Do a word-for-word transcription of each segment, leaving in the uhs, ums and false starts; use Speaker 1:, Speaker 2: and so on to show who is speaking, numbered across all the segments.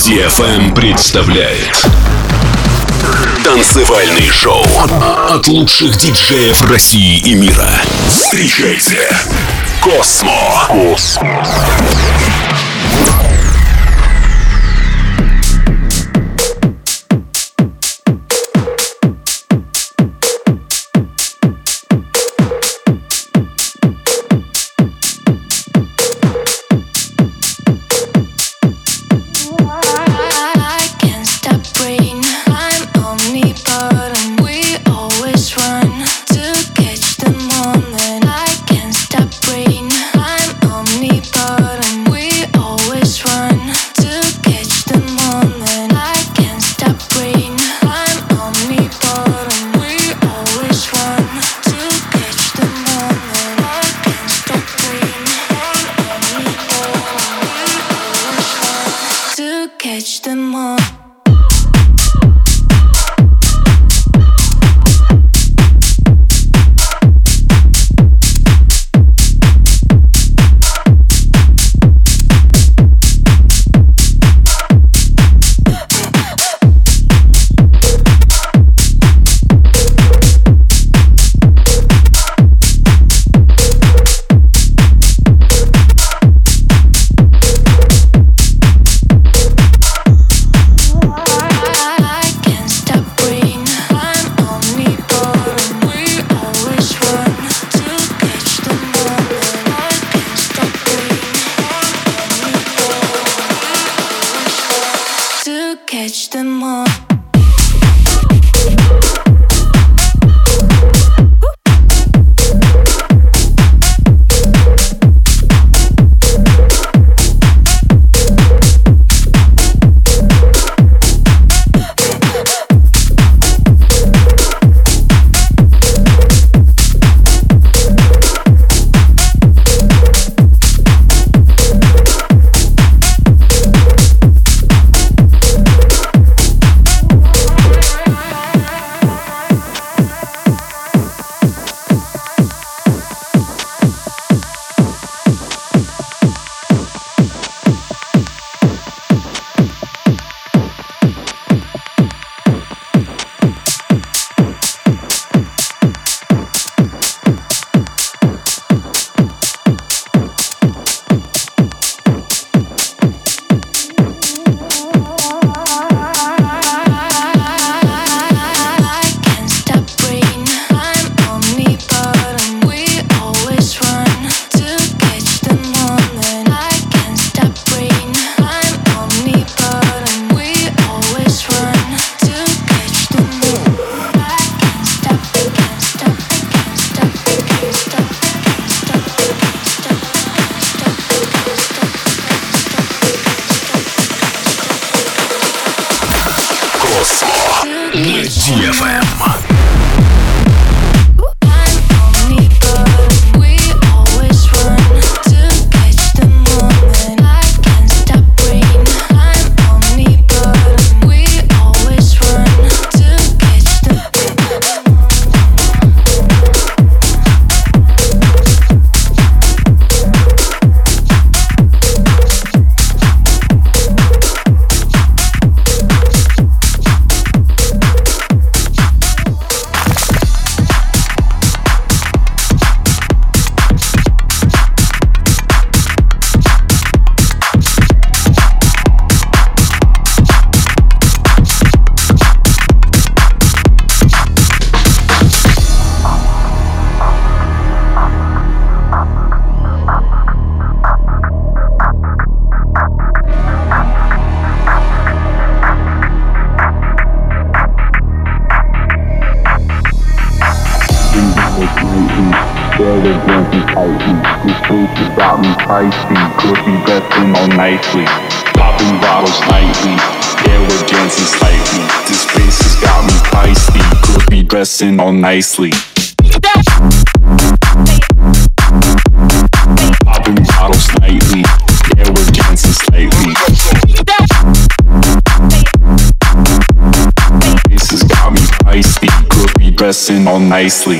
Speaker 1: ди эф эм представляет танцевальный шоу от лучших диджеев России и мира. Встречайте Космо. Космо. ди эф эм.
Speaker 2: Nicely, popping bottles nightly. Yeah, we're dancing slightly. This place has got me feisty. Could be dressing all nicely. Popping bottles nightly. Yeah, we're dancing slightly. This has got me feisty. Could be dressing all nicely.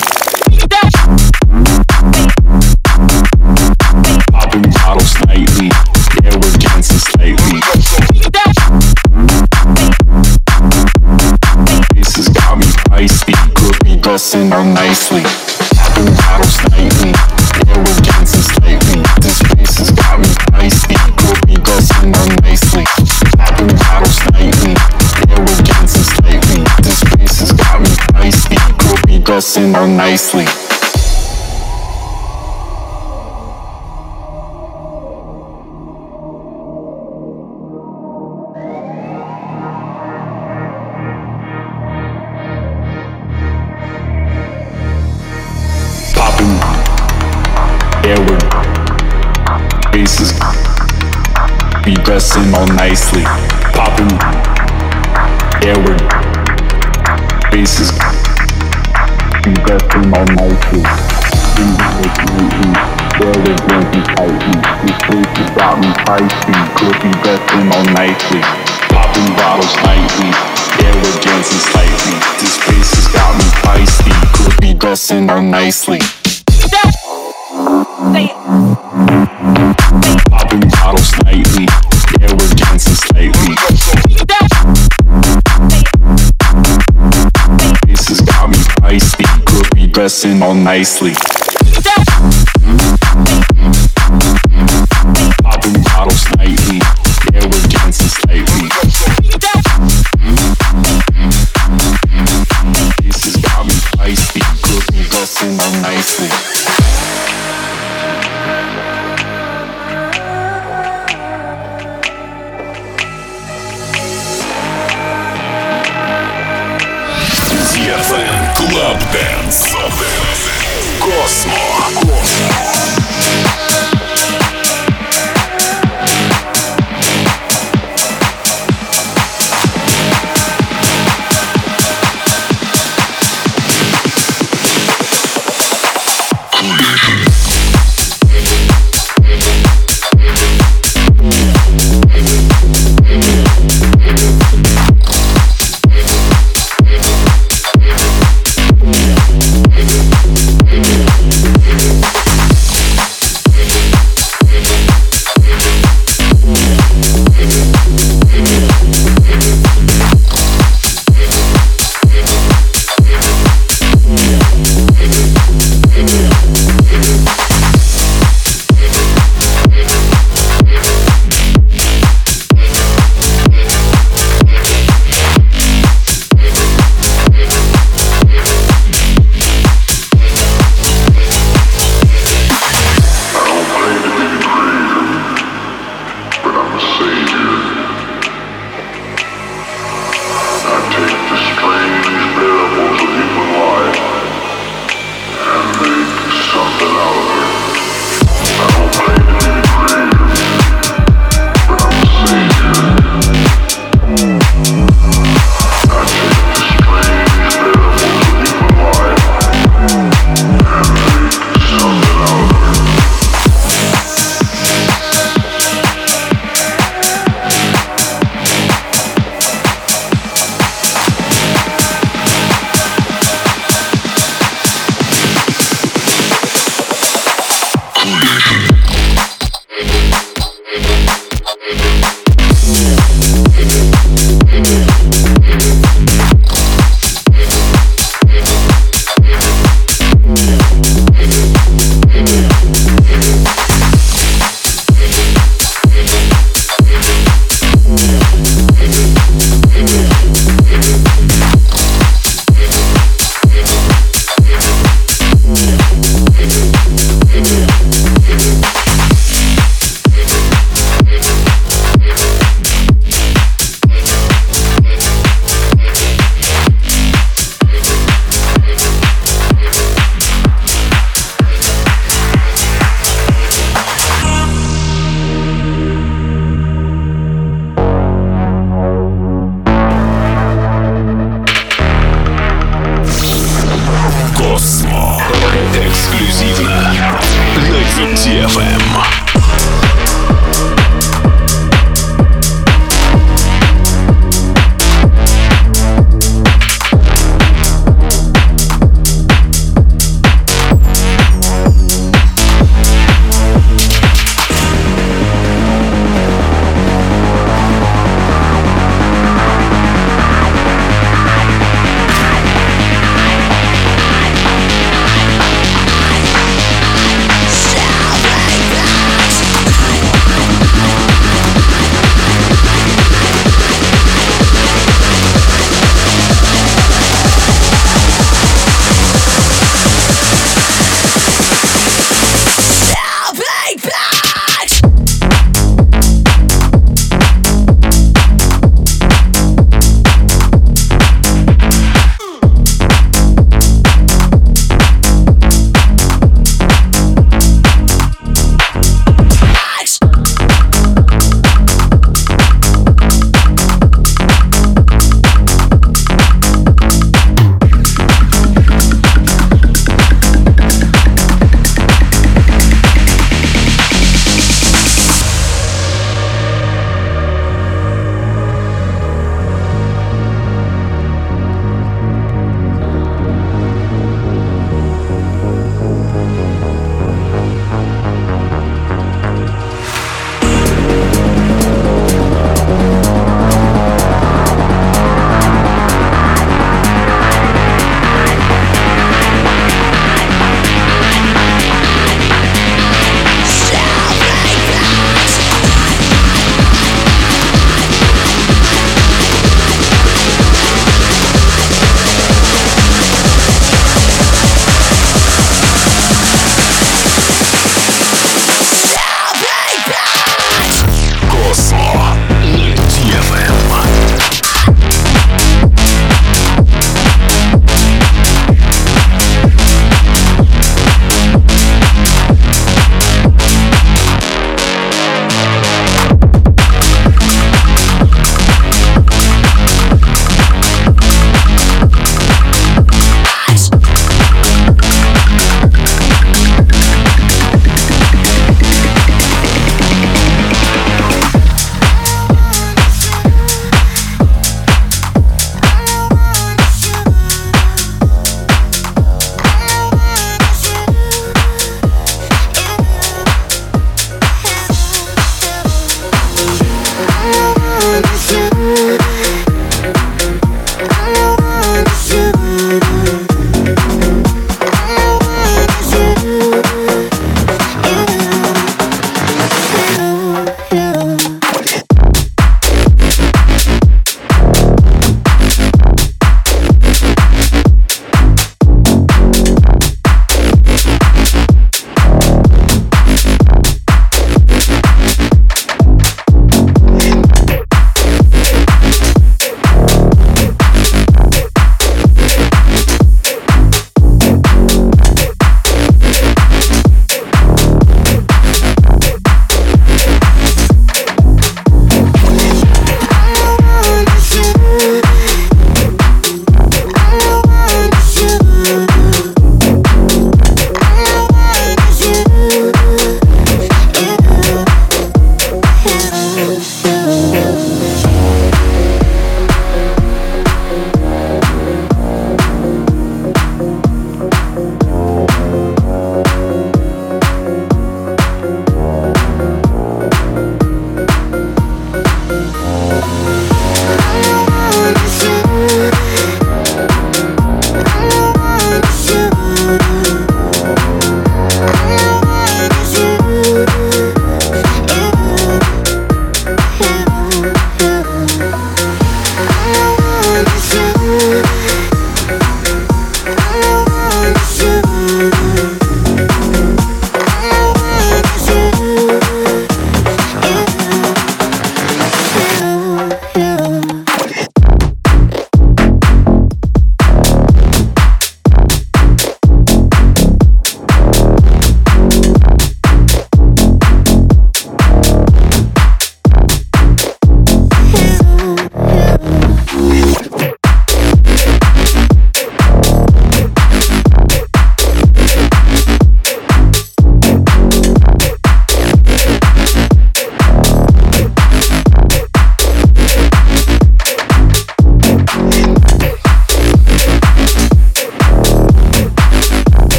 Speaker 2: Popping bottles nightly. Yeah, we're dancing slightly. dressing all nicely. Popping bottles nightly, yeah, we're dancing slightly. This place has got me feisty, we'll be dressing all nicely. Popping bottles nightly, yeah, we're dancing slightly. This place has got me feisty, we'll be dressing all nicely. Yeah, we're faces be dressing all nicely. Popping, yeah, we're faces be dressing all nicely. Yeah, we're dancing tightly. These faces got me feisty. Could be dressing all nicely. Popping bottles nightly. Yeah, we're dancing slightly. This face has got me feisty. Could be dressing all nicely. Popping bottles nightly, yeah, we're dancing slightly. This has got me feisty, could be dressing all nicely. Popping bottles nightly, yeah, we're dancing slightly. This has got me feisty, could be dressing all nicely.
Speaker 1: Club Dance. Cosmo.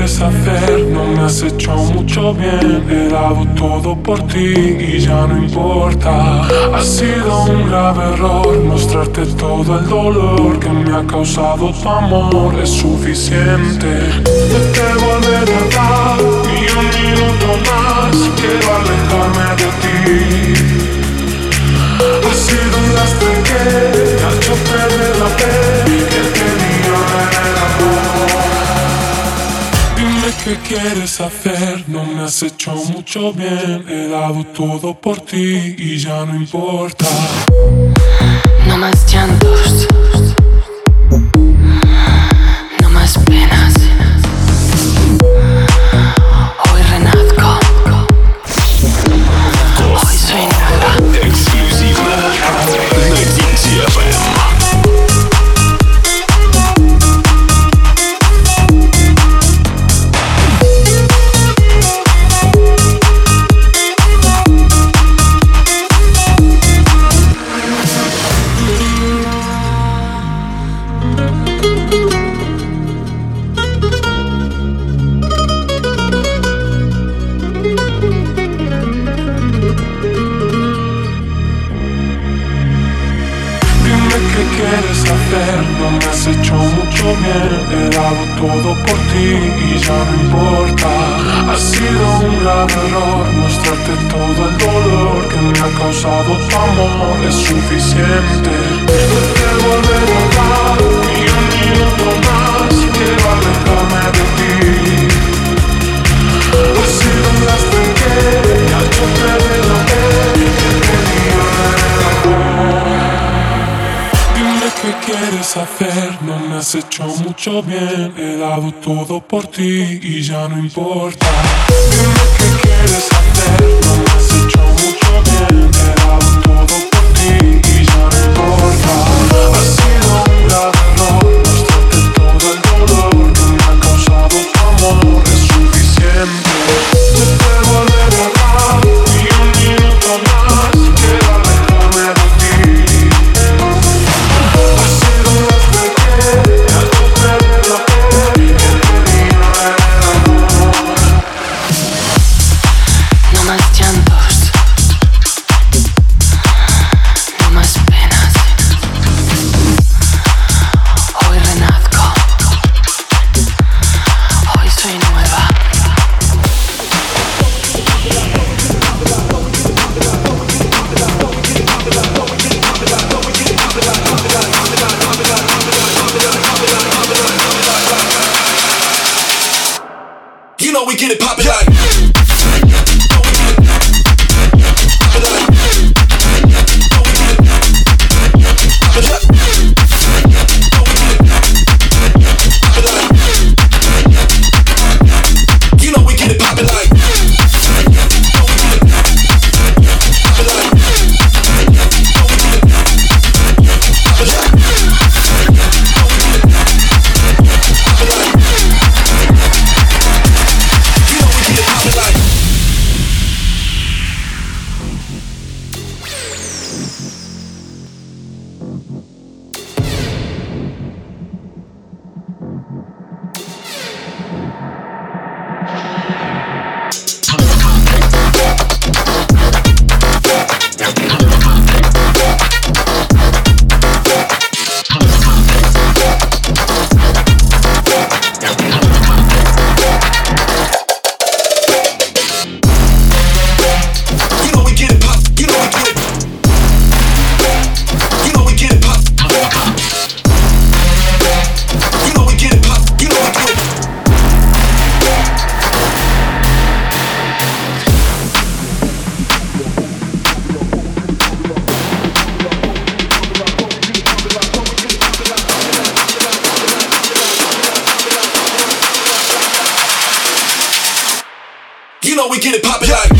Speaker 3: quieres hacer? No me has hecho mucho bien. He dado todo por ti y ya no importa. Ha sido un grave error mostrarte todo el dolor que me ha causado tu amor. Es suficiente. No te volveré a dar ni un minuto más. Quiero alejarme de ti. Ha sido un lastre que te ha hecho perder la fe que tenía en el amor. Dime qué quieres hacer, no me has hecho mucho bien. He dado todo por ti y ya no importa.
Speaker 4: No más llantos, no más penas. Hoy renazco. Hoy soy nueva.
Speaker 1: Эксклюзивно на ди джей эф эм.
Speaker 3: No me has hecho mucho bien. He dado todo por ti y ya no importa. Ha sido un grave error mostrarte todo el dolor que me ha causado tu amor. Es suficiente. No te volveré a dar ni un minuto más. Quiero alejarme de ti. Ha sido un lastre que me ha hecho perder la fe que tenía en el amor. ¿Qué quieres hacer? No me has hecho mucho bien. He dado todo por ti y ya no importa. Dime qué quieres hacer. No me has hecho mucho bien. He dado todo por ti y ya no importa. Ha sido un grave error mostrarte todo el dolor que me ha causado tu amor. Es suficiente. No te volveré a dar ni un minuto más. Quiero alejarme de ti.
Speaker 4: No más llantos, no más penas. Hoy renazco. Hoy soy nueva.
Speaker 1: You know we get it poppin' like. You know we get it poppin' like.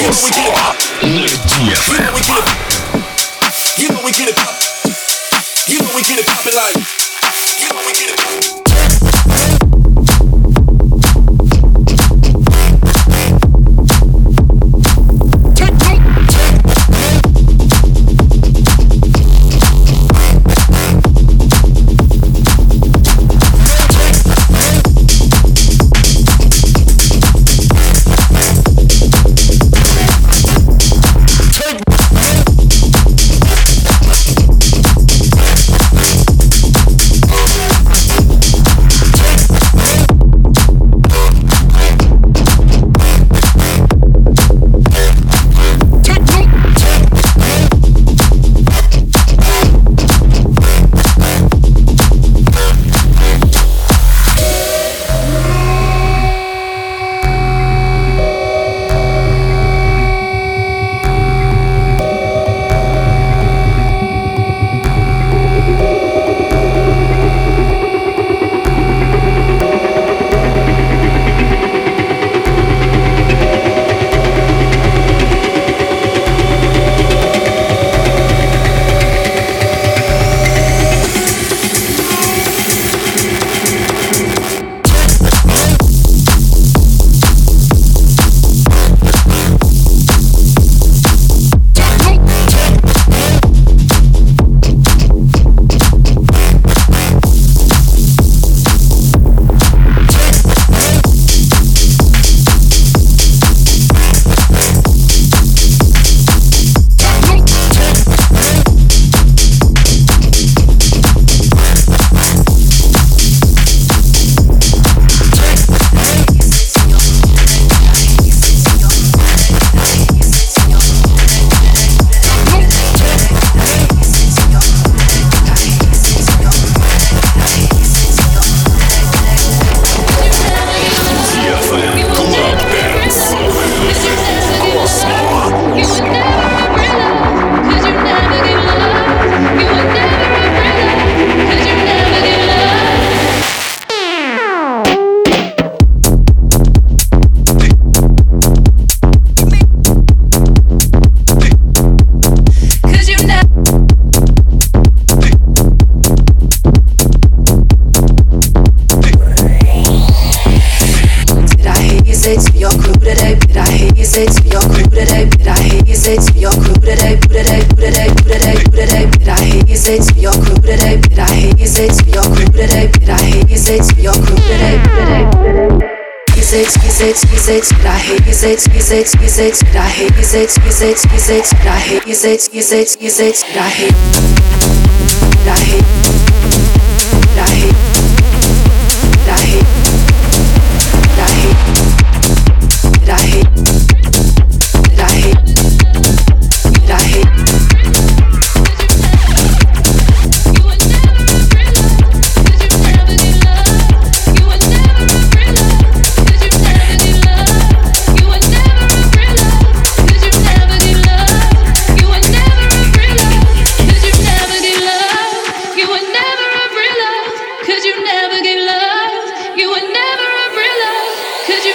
Speaker 5: Could you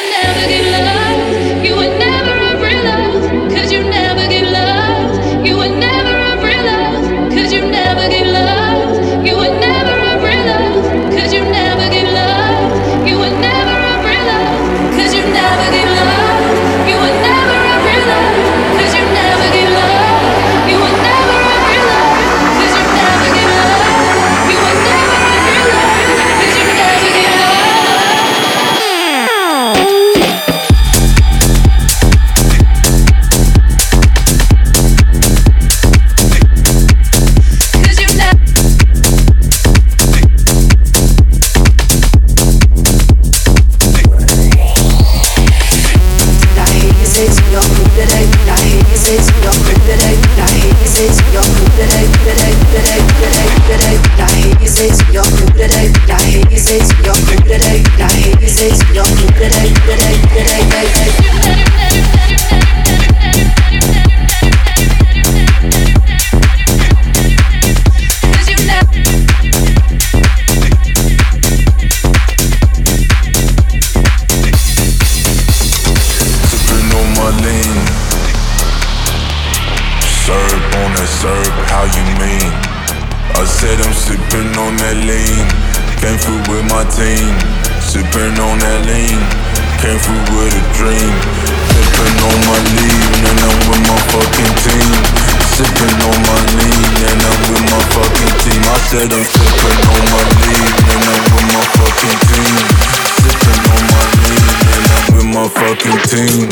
Speaker 5: Serve, how you mean? I said I'm sipping on that lean. Came through with my team. Sipping on that lean. Came through with a dream. Sipping on my lean and I'm with my fucking team. Sipping on my lean and I'm with my fucking team. I said I'm sipping on my lean and I'm with my fucking team. Sipping on my lean and I'm with my fucking team.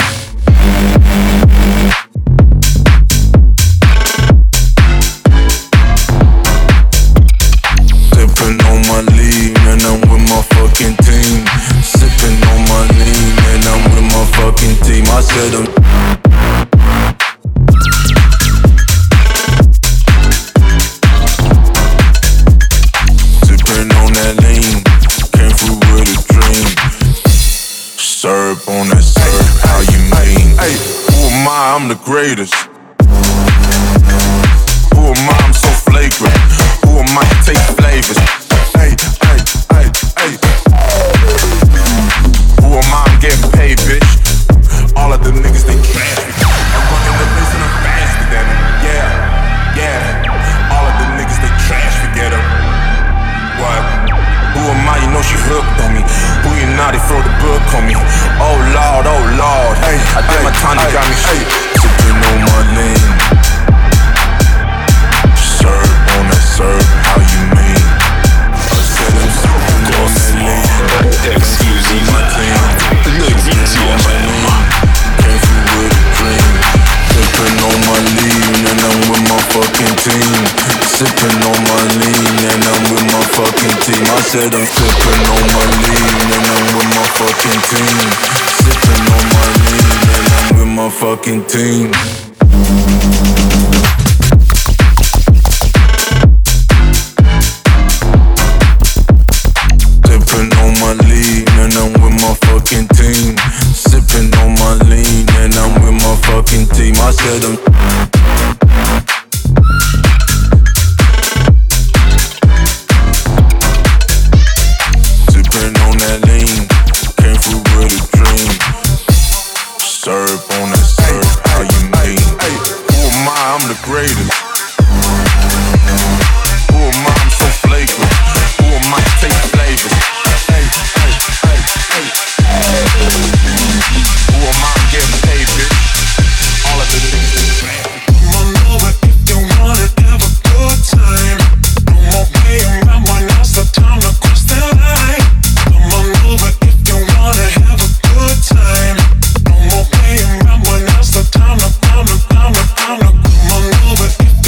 Speaker 5: Sipping on my lean and I'm with my fucking team. Sipping on my lean and I'm with my fucking team. I said I'm sipping on that lean. Came through with a dream. Serve on that serve, how you mean? Hey, who am I? I'm the greatest. Who am I? I'm so flagrant. Who am I to take flavors? Hey, hey, hey, hey. Who am I? I'm getting paid, bitch. All of the niggas, they trash me. I'm running the place and I'm faster than them. Yeah, yeah. All of the niggas, they trash, forget them. What? Who am I? You know she hooked on me. Who you not? They throw the book on me. Oh Lord, oh Lord. Hey, I did my time, they got me shit. Sipping on my lean. Serve on that serve, how you mean? I said I'm sipping on that lean. Exclusive my team. Sipping on my lean. Came through with a dream. Sipping on my lean and I'm with my fucking team. Sipping on my lean and I'm with my fucking team. I said I'm sipping on my lean and I'm with my fucking team. Sipping on my lean and I'm with my fucking team. Sipping on my lean and I'm with my fucking team. Sipping on my lean and I'm with my fucking team. I said I'm sipping on that lean. Came through with a dream. Serve on that serve, how you mean? Who am I? I'm the greatest. Who am I? I'm so flagrant. Who am I to take flavors? Hey, hey, hey, hey. Who am I? I'm getting paid, bitch. All of the niggas in the trash. Come on over if you wanna have a good time. No more playing around when now's the time to cross the line. Come on over if you wanna have a good time. No more playing around when now's the time to, time to, time to, time to. Come on over if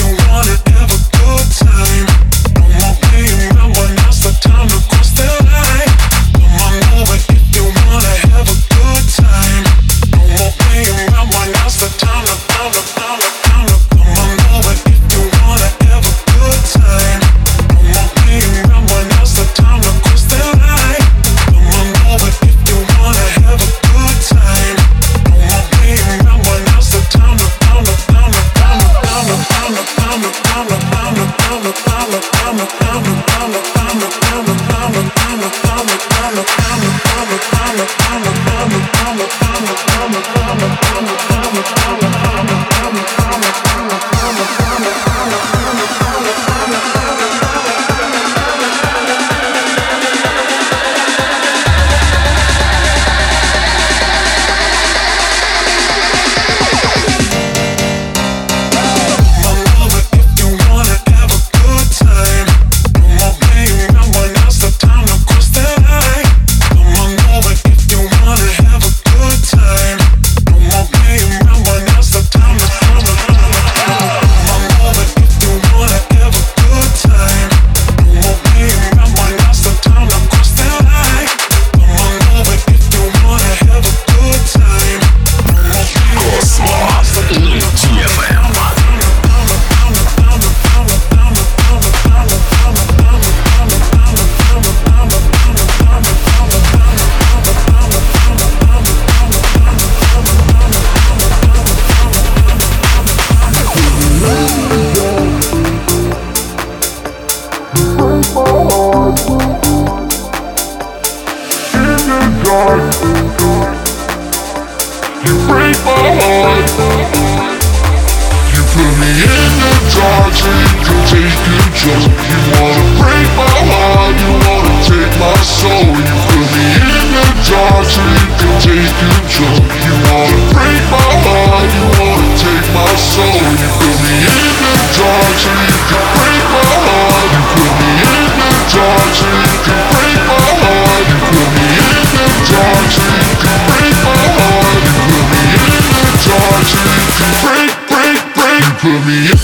Speaker 2: You wanna break my heart, you wanna take my soul. You put me in the dark so you can take control. You wanna break my heart, you wanna take my soul. You put me in the dark so you can break my heart. You put me in the dark so you can break my heart. You put me in the dark so you can break my heart. You put me in the dark so you can break, break, break. You put me in.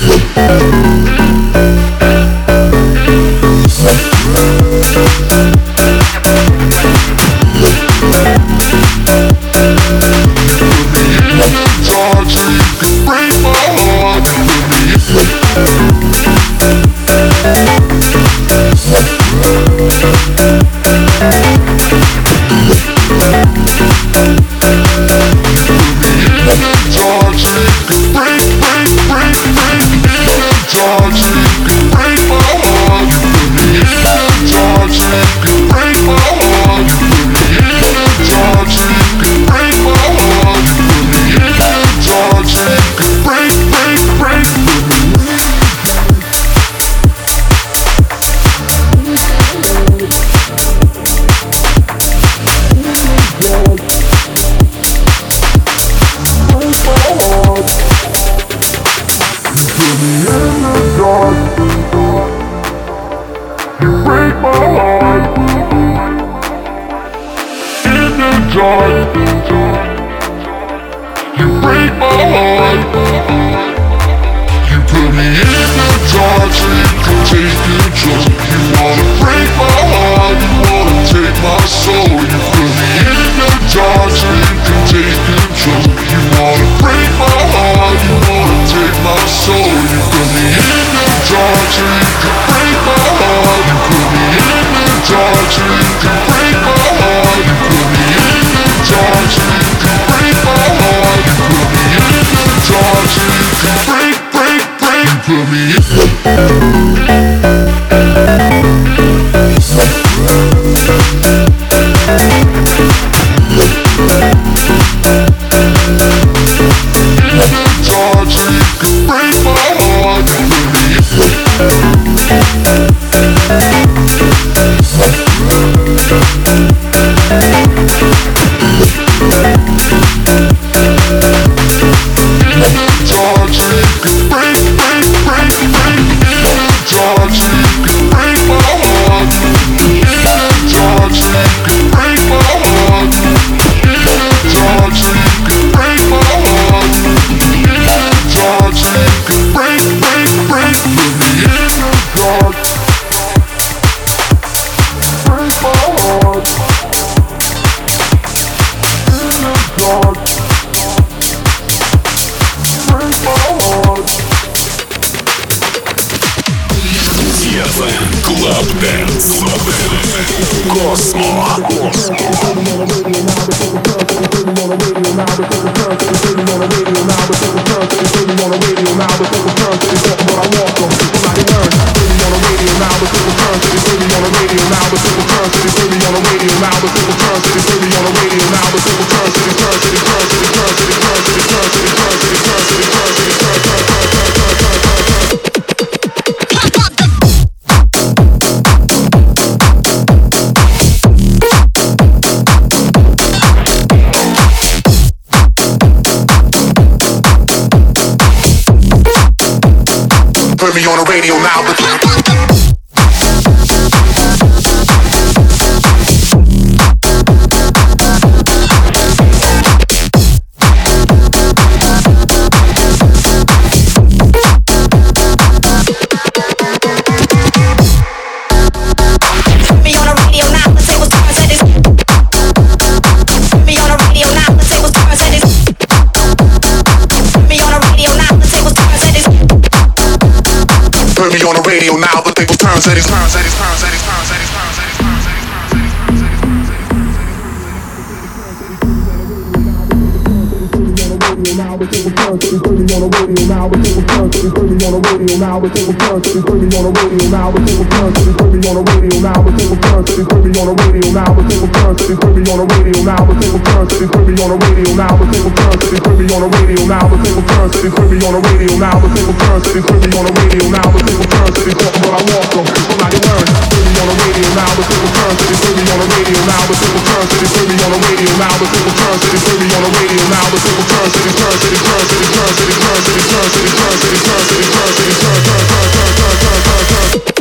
Speaker 6: now, the table turns, so they play me on the radio now, the table turns, so they play me on the radio now, the table turns, so they play me on the radio now, the table turns, so they play me on the radio now, the table turns, so they play me on the radio now, the table turns, so they play me on the radio now, the table turns, so they play me on the radio now, the table turns, so they play me on the radio now, the table turns, so they play me on the radio now, the table turns, so they play me on the radio now, the table turns, so they talk what I want from, so now you learn, play me on the radio now, the table turns, so they play me on the radio now, the table turns, so they play me on the radio now, the table turns, so they play me on the radio now, the table turns, so they turns, so they turns, so they turns, so they turns, so they turns, so they turns, so they turns, so they turns, so they turns, turn, turn, turn, turn, turn, turn, turn, turn.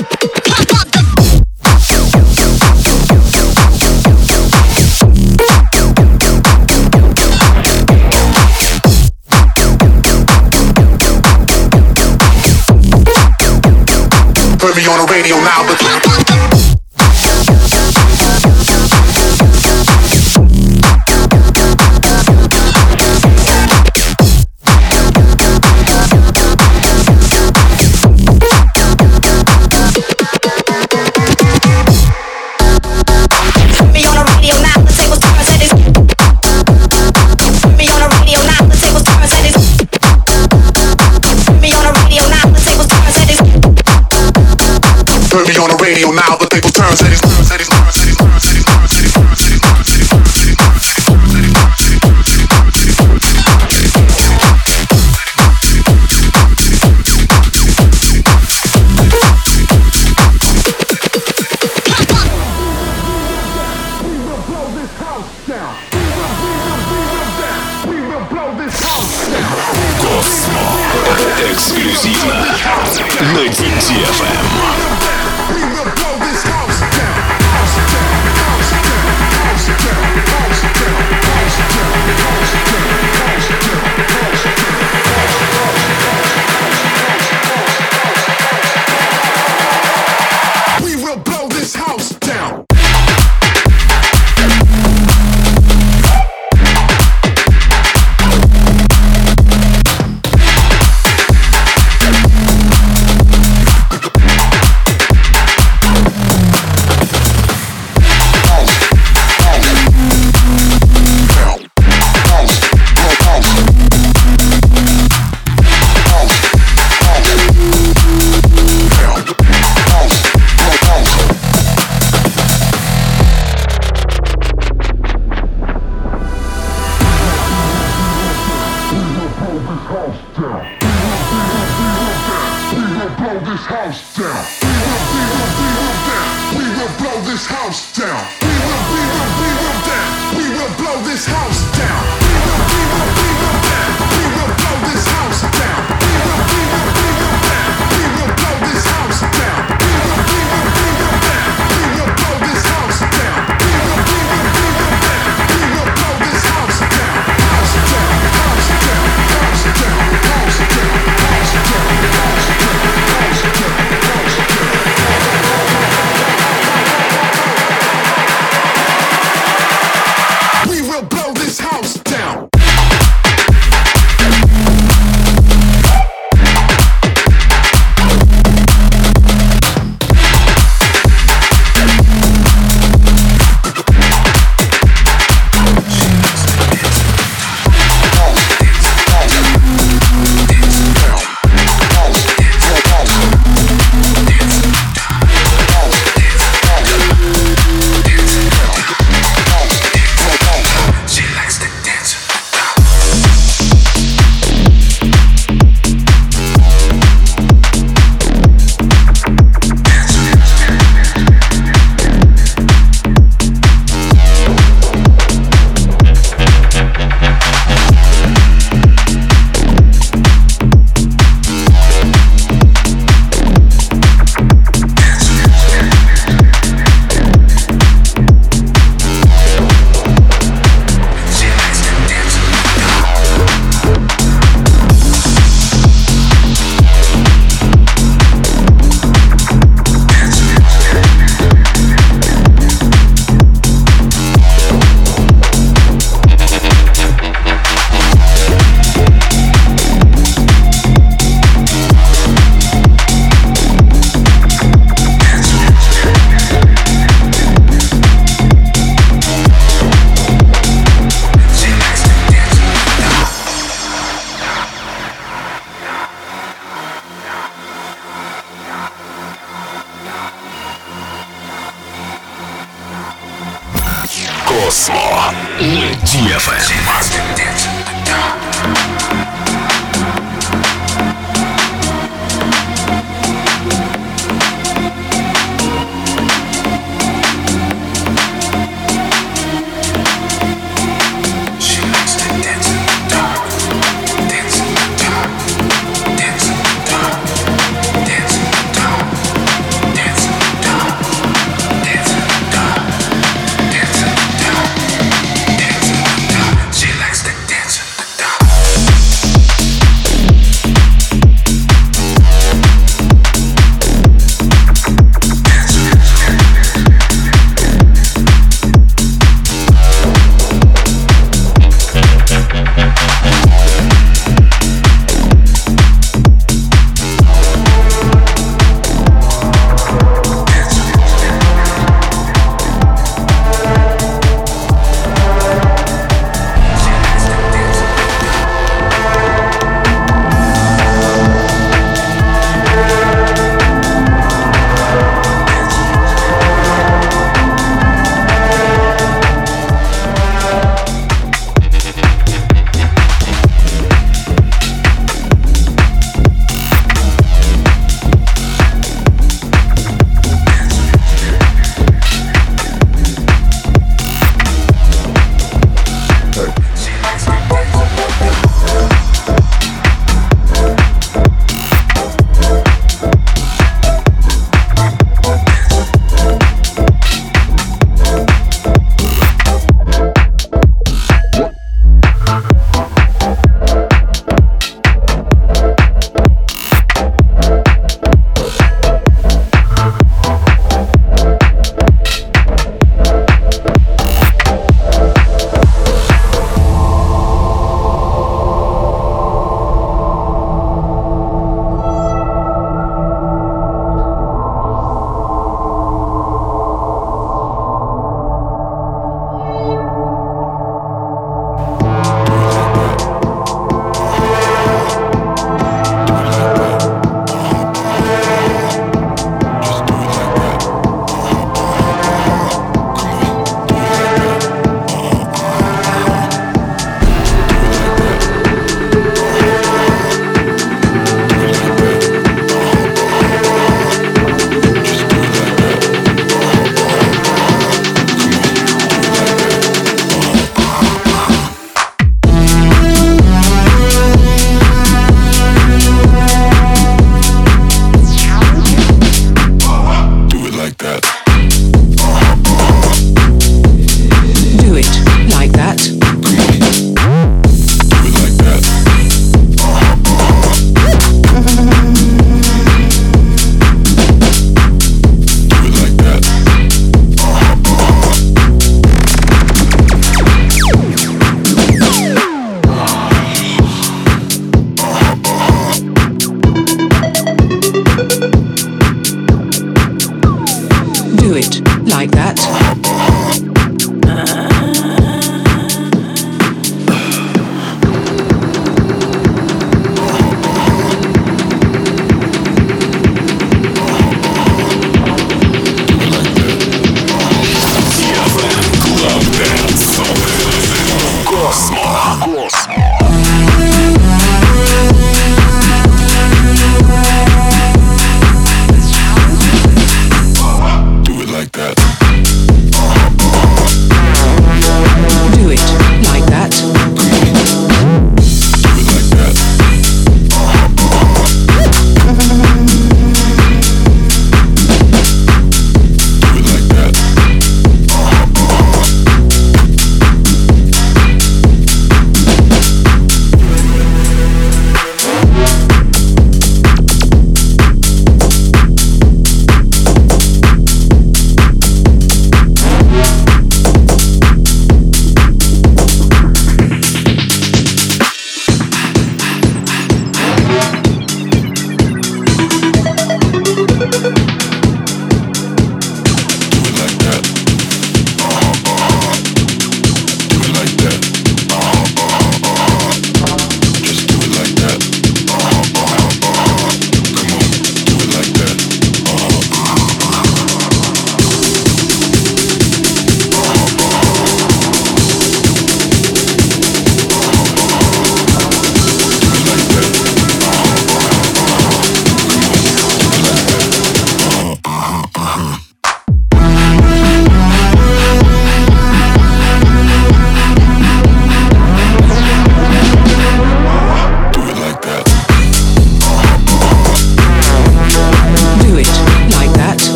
Speaker 5: Put me on the radio now, but on the radio now, the table turns, and it's turns, and it's turns, and it's turns, and it's turns, and it's turns, and it's turns, and it's turns, and it's
Speaker 1: Эксклюзивно на ди джей эф эм. Blow this house down. Осло на ди эф эм.
Speaker 7: She likes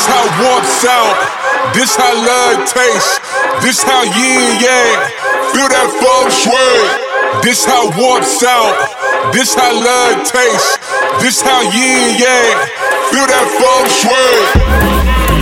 Speaker 5: This how warmth sound. This how love tastes. This how yin yang. Feel that feng shui. This how warmth sound. This how love tastes. This how yin yang. Feel that feng shui.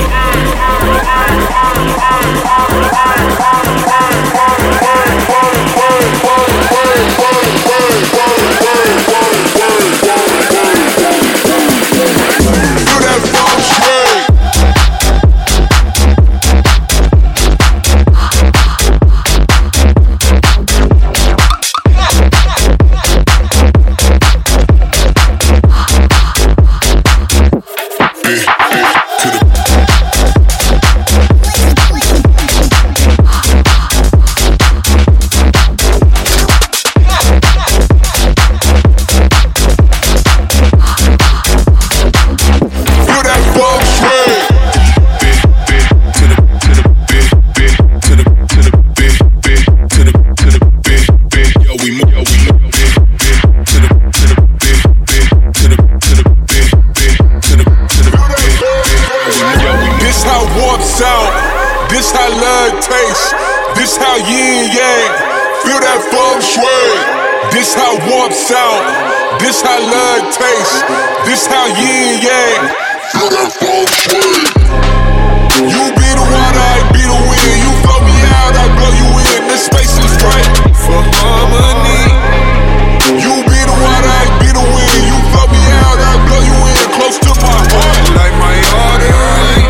Speaker 5: This how love tastes. This how yin yang. Feel that feng shui. This how warmth sound. This how love tastes. This how yin yang. Feel that feng shui. You be the water, I be the wind. You flow me out, I blow you in. This space is right for harmony. You be the water, I be the wind. You flow me out, I blow you in. Close to my heart, like my artery.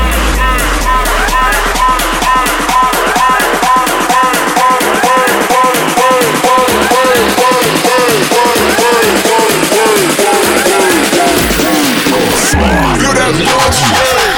Speaker 5: Feel that love.